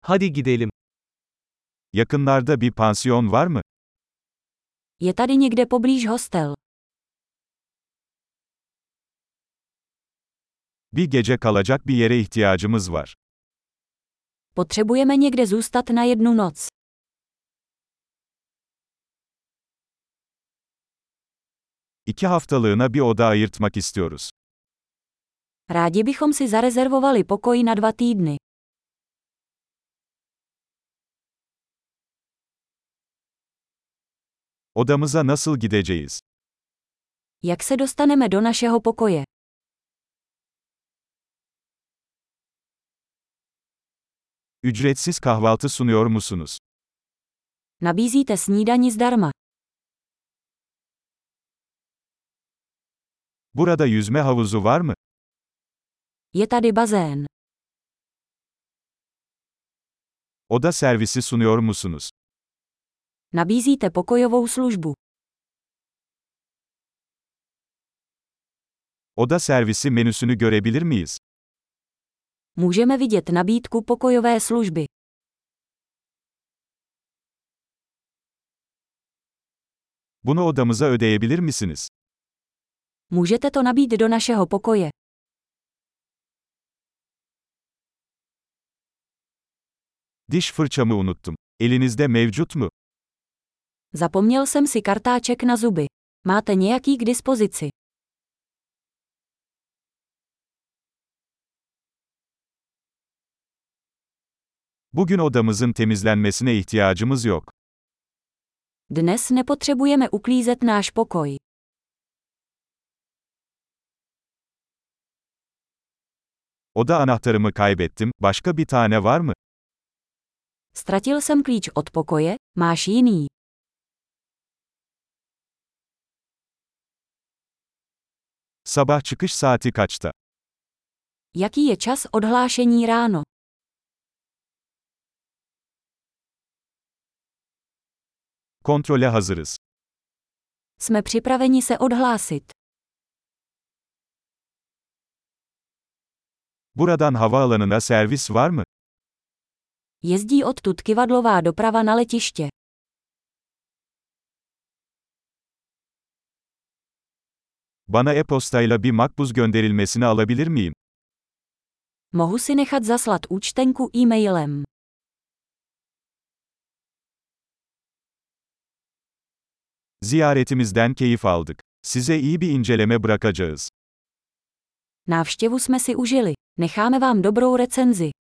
Hadi gidelim. Yakınlarda bir pansiyon var mı? Je tady někde poblíž hostel. Bir gece kalacak bir yere ihtiyacımız var. Potřebujeme někde zůstat na jednu noc. İki haftalığına bir oda ayırtmak istiyoruz. Rádi bychom si zarezervovali pokoj na 2 týdny. Odamıza nasıl gideceğiz? Jak se dostaneme do našeho pokoje? Ücretsiz kahvaltı sunuyor musunuz? Nabízíte snídani zdarma. Burada yüzme havuzu var mı? Je tady bazén. Oda servisi sunuyor musunuz? Nabízíte pokojovou službu. Oda servisi menüsünü görebilir miyiz? Můžeme vidět nabídku pokojové služby. Bunu odamıza ödeyebilir misiniz? Můžete to nabít do našeho pokoje. Diş fırçamı unuttum. Elinizde mevcut mu? Zapomněl jsem si kartáček na zuby. Máte nějaký k dispozici? Bugün odamızın temizlenmesine ihtiyacımız yok. Dnes nepotřebujeme uklízet náš pokoj. Oda anahtarımı kaybettim. Başka bir tane var mı? Ztratil jsem klíč od pokoje, máš jiný? Sabah çıkış saati kaçta? Jaký je čas odhlášení ráno? Kontrole hazırız. Jsme připraveni se odhlásit. Buradan havaalanına servis var mı? Jezdí odtud kivadlová doprava na letiště. Bana e-postayla bir makbuz gönderilmesini alabilir miyim? Mohu si nechat zaslat účtenku e-mailem. Ziyaretimizden keyif aldık. Size iyi bir inceleme bırakacağız. Návštěvu jsme si užili. Necháme vám dobrou recenzi.